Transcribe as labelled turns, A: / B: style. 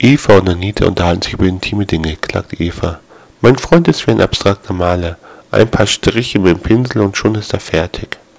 A: Eva und Anita unterhalten sich über intime Dinge, klagt Eva. Mein Freund ist wie ein abstrakter Maler. Ein paar Striche mit dem Pinsel und schon ist er fertig.